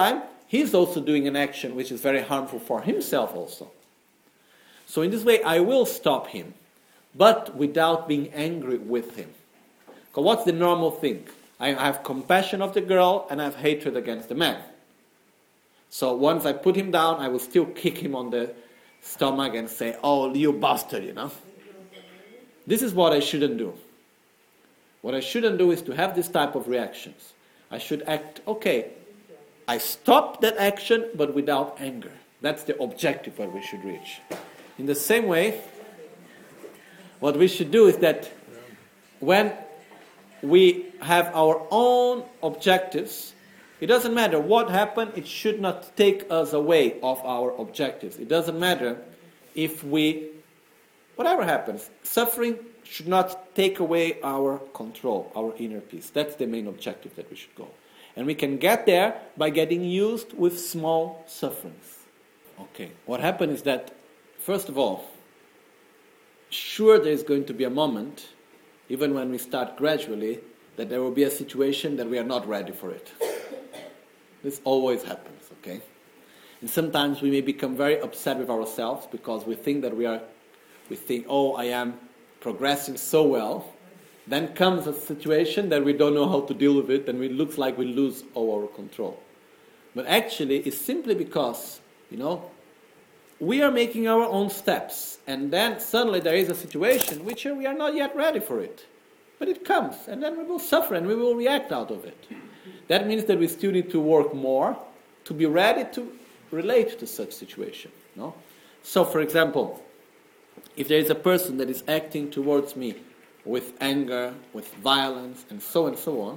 B: he's also doing an action which is very harmful for himself also. So in this way, I will stop him, but without being angry with him. Because what's the normal thing? I have compassion of the girl and I have hatred against the man. So once I put him down, I will still kick him on the stomach and say, oh, you bastard, This is what I shouldn't do. What I shouldn't do is to have this type of reactions. I should act, okay, I stop that action, but without anger. That's the objective that we should reach. In the same way, what we should do is that when we have our own objectives, it doesn't matter what happened, it should not take us away of our objectives. It doesn't matter if whatever happens, suffering should not take away our control, our inner peace. That's the main objective that we should go. And we can get there by getting used with small sufferings. Okay, what happened is that, first of all, sure there is going to be a moment, even when we start gradually, that there will be a situation that we are not ready for it. This always happens, okay? And sometimes we may become very upset with ourselves because we think, oh, I am progressing so well. Then comes a situation that we don't know how to deal with it, and it looks like we lose all our control. But actually, it's simply because, we are making our own steps, and then suddenly there is a situation which we are not yet ready for it. But it comes, and then we will suffer, and we will react out of it. That means that we still need to work more to be ready to relate to such situation. No? So, for example, if there is a person that is acting towards me with anger, with violence, and so on,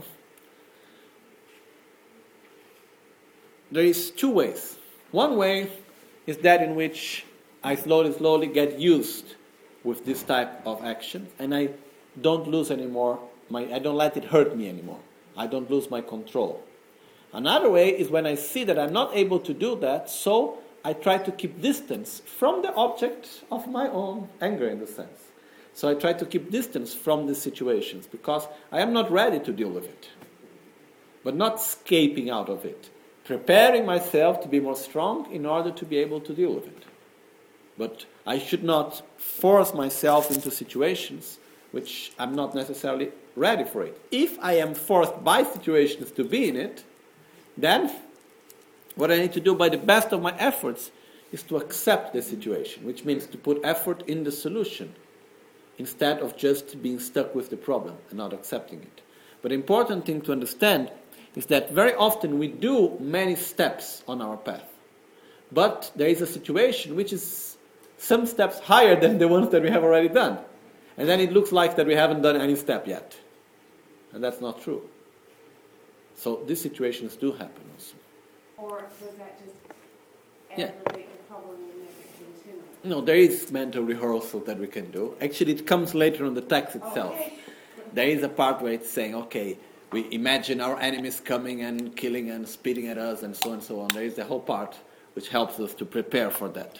B: there is two ways. One way is that in which I slowly get used with this type of action, and I don't lose anymore, I don't let it hurt me anymore. I don't lose my control. Another way is when I see that I'm not able to do that, so I try to keep distance from the object of my own anger, in the sense. So I try to keep distance from these situations because I am not ready to deal with it. But not escaping out of it. Preparing myself to be more strong in order to be able to deal with it. But I should not force myself into situations which I'm not necessarily ready for it. If I am forced by situations to be in it, then what I need to do by the best of my efforts is to accept the situation, which means to put effort in the solution instead of just being stuck with the problem and not accepting it. But the important thing to understand is that very often we do many steps on our path. But there is a situation which is some steps higher than the ones that we have already done. And then it looks like that we haven't done any step yet. And that's not true. So these situations do happen also.
D: Or does that just aggravate the problem and make it continue?
B: No, there is mental rehearsal that we can do. Actually, it comes later on the text itself.
D: Okay.
B: There is a part where it's saying, okay, we imagine our enemies coming and killing and spitting at us and so on. There is the whole part which helps us to prepare for that.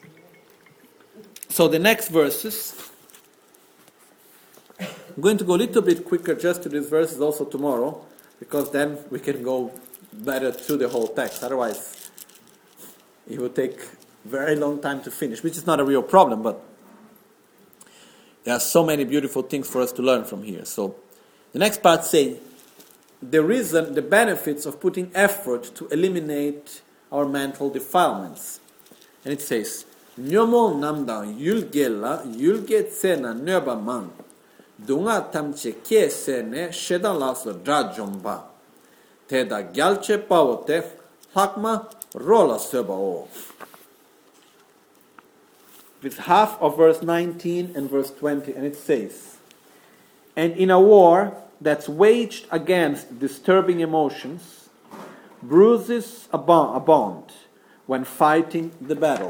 B: So the next verses, I'm going to go a little bit quicker just to these verses also tomorrow, because then we can go better through the whole text. Otherwise, it will take very long time to finish, which is not a real problem, but there are so many beautiful things for us to learn from here. So the next part saying the benefits of putting effort to eliminate our mental defilements. And it says, Nyomo namda yulgela yulge tsena nyoba man dunga tamche ke sene shedan laso drajomba teda gyalche pawote hakma rola sebao. It's half of verse 19 and verse 20, and it says, and in a war that's waged against disturbing emotions, bruises abound when fighting the battle.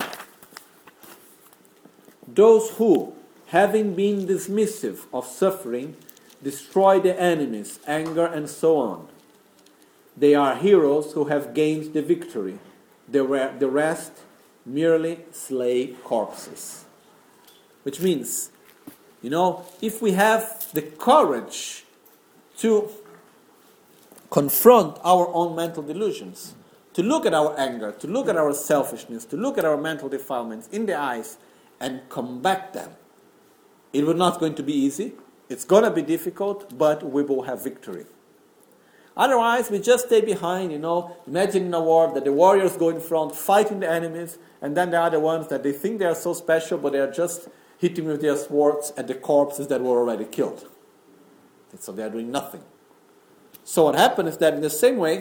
B: Those who, having been dismissive of suffering, destroy the enemies, anger, and so on. They are heroes who have gained the victory. The rest merely slay corpses. Which means, if we have the courage to confront our own mental delusions, to look at our anger, to look at our selfishness, to look at our mental defilements in the eyes and combat them. It will not going to be easy. It's going to be difficult, but we will have victory. Otherwise, we just stay behind, Imagine in a war that the warriors go in front fighting the enemies, and then there are the ones that they think they are so special, but they are just hitting with their swords at the corpses that were already killed. So they are doing nothing. So what happens is that in the same way,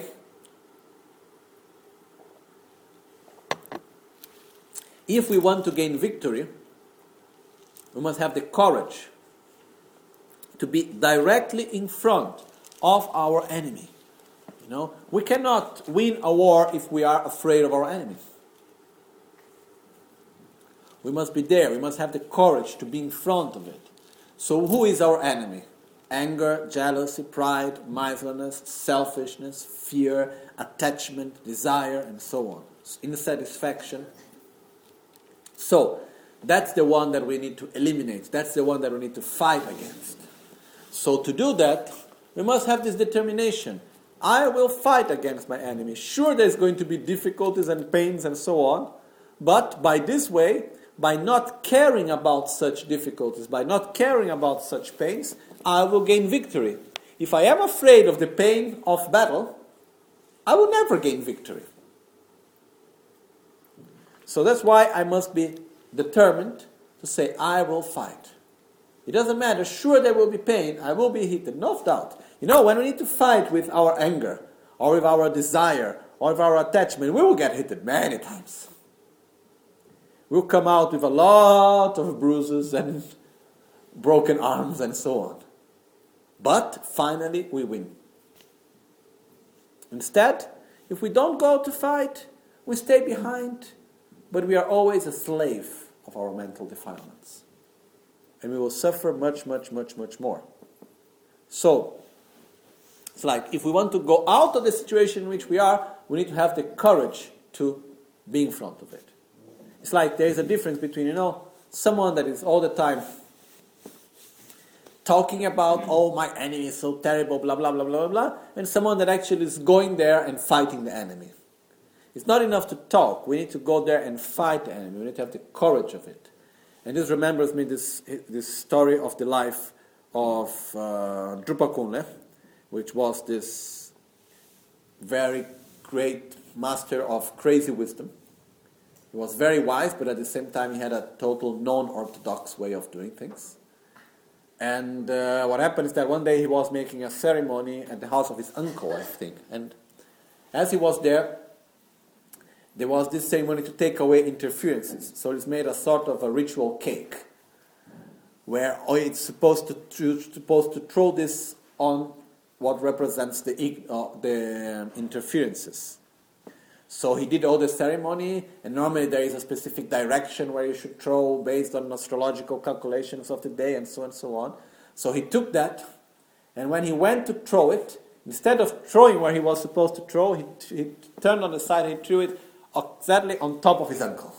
B: if we want to gain victory, we must have the courage to be directly in front of our enemy. We cannot win a war if we are afraid of our enemy. We must be there. We must have the courage to be in front of it. So who is our enemy? Anger, jealousy, pride, miserliness, selfishness, fear, attachment, desire, and so on. Insatisfaction. So, that's the one that we need to eliminate. That's the one that we need to fight against. So to do that, we must have this determination. I will fight against my enemy. Sure, there's going to be difficulties and pains and so on. But by this way, by not caring about such difficulties, by not caring about such pains, I will gain victory. If I am afraid of the pain of battle, I will never gain victory. So that's why I must be determined to say, I will fight. It doesn't matter. Sure, there will be pain. I will be hit. No doubt. When we need to fight with our anger, or with our desire, or with our attachment, we will get hit many times. We'll come out with a lot of bruises and broken arms and so on. But finally, we win. Instead, if we don't go to fight, we stay behind, but we are always a slave of our mental defilements. And we will suffer much, much, much, much more. So, it's like if we want to go out of the situation in which we are, we need to have the courage to be in front of it. It's like there is a difference between, someone that is all the time talking about, oh, my enemy is so terrible, blah, blah, blah, blah, blah, and someone that actually is going there and fighting the enemy. It's not enough to talk. We need to go there and fight the enemy. We need to have the courage of it. And this remembers me this story of the life of Drupa Kunle, which was this very great master of crazy wisdom. He was very wise, but at the same time he had a total non-orthodox way of doing things. And what happened is that one day he was making a ceremony at the house of his uncle, I think. And as he was there was this ceremony to take away interferences. So it's made a sort of a ritual cake, where it's supposed to throw this on what represents the interferences. So he did all the ceremony, and normally there is a specific direction where you should throw based on astrological calculations of the day and so on. So he took that, and when he went to throw it, instead of throwing where he was supposed to throw, he turned on the side and he threw it exactly on top of his uncle.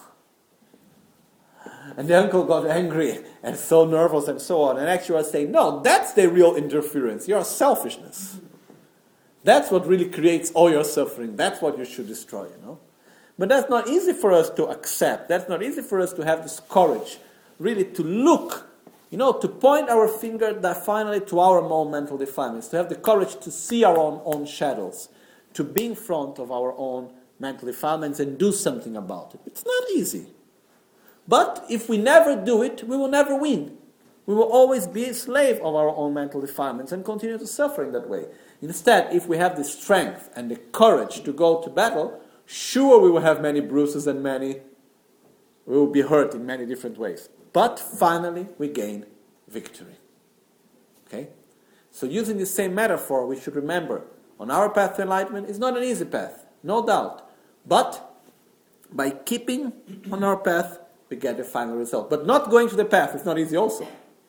B: And the uncle got angry and so nervous and so on, and actually was saying, no, that's the real interference, your selfishness. That's what really creates all your suffering. That's what you should destroy, But that's not easy for us to accept. That's not easy for us to have this courage, really to look, to point our finger finally to our own mental defilements, to have the courage to see our own shadows, to be in front of our own mental defilements and do something about it. It's not easy. But if we never do it, we will never win. We will always be a slave of our own mental defilements and continue to suffer in that way. Instead, if we have the strength and the courage to go to battle, sure we will have many bruises and we will be hurt in many different ways. But finally, we gain victory. Okay? So using the same metaphor, we should remember, on our path to enlightenment, it's not an easy path, no doubt. But by keeping on our path, we get the final result. But not going to the path is not easy also.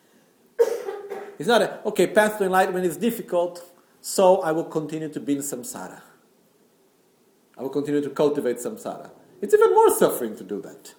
B: It's not path to enlightenment is difficult, so I will continue to be in samsara. I will continue to cultivate samsara. It's even more suffering to do that.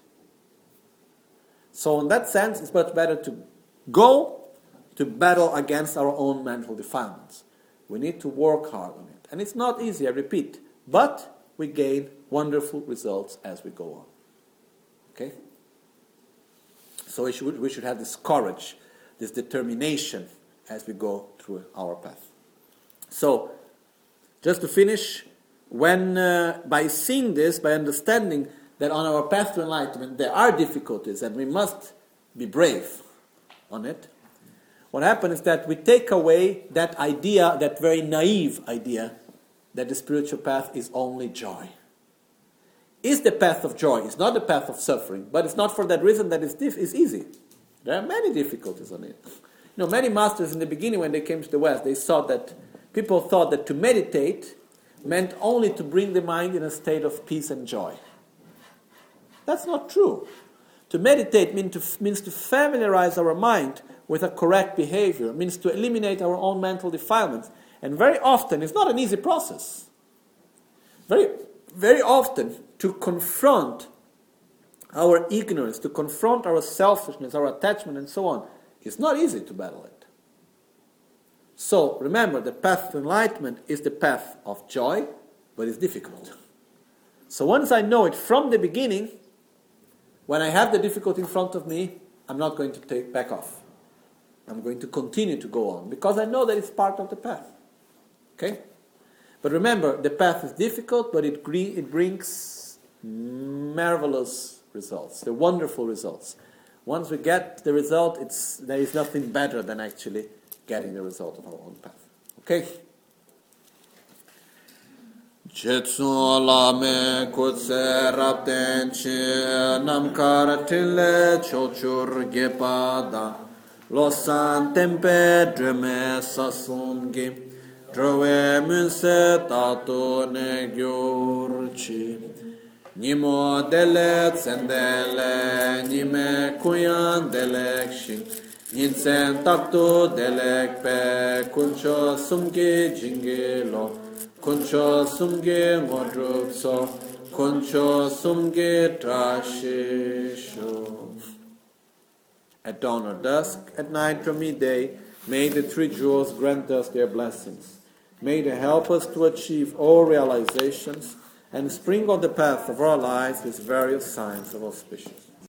B: So in that sense, it's much better to go to battle against our own mental defilements. We need to work hard on it. And it's not easy, I repeat. But we gain wonderful results as we go on. Okay? So we should have this courage, this determination as we go through our path. So, just to finish, when by seeing this, by understanding that on our path to enlightenment there are difficulties and we must be brave on it, what happens is that we take away that idea, that very naive idea, that the spiritual path is only joy. It's the path of joy. It's not the path of suffering. But it's not for that reason that it's easy. There are many difficulties on it. You know, many masters in the beginning, when they came to the West, people thought that to meditate meant only to bring the mind in a state of peace and joy. That's not true. To meditate means to familiarize our mind with a correct behavior, means to eliminate our own mental defilements. And very often, it's not an easy process. Very, very often, to confront our ignorance, to confront our selfishness, our attachment, and so on, it's not easy to battle it. So, remember, the path to enlightenment is the path of joy, but it's difficult. So once I know it from the beginning, when I have the difficulty in front of me, I'm not going to back off. I'm going to continue to go on, because I know that it's part of the path. Okay? But remember, the path is difficult, but it brings marvelous results, the wonderful results. Once we get the result, there is nothing better than actually getting the result of our own path. Okay?
A: Jetsu lame kutse rapten chi namkar tille chochur gepada losan tempe dreme sasungi drove munse tato ne gyurchi nimo dele tsendele nime kuyan delekshi nitsen takto delek pe kuncho sumgi jingilo kuncho sumge ngodrupso, kuncho sumge trashisho. At dawn or dusk, at night or midday, may the three jewels grant us their blessings. May they help us to achieve all realizations and spring on the path of our lives with various signs of auspicious.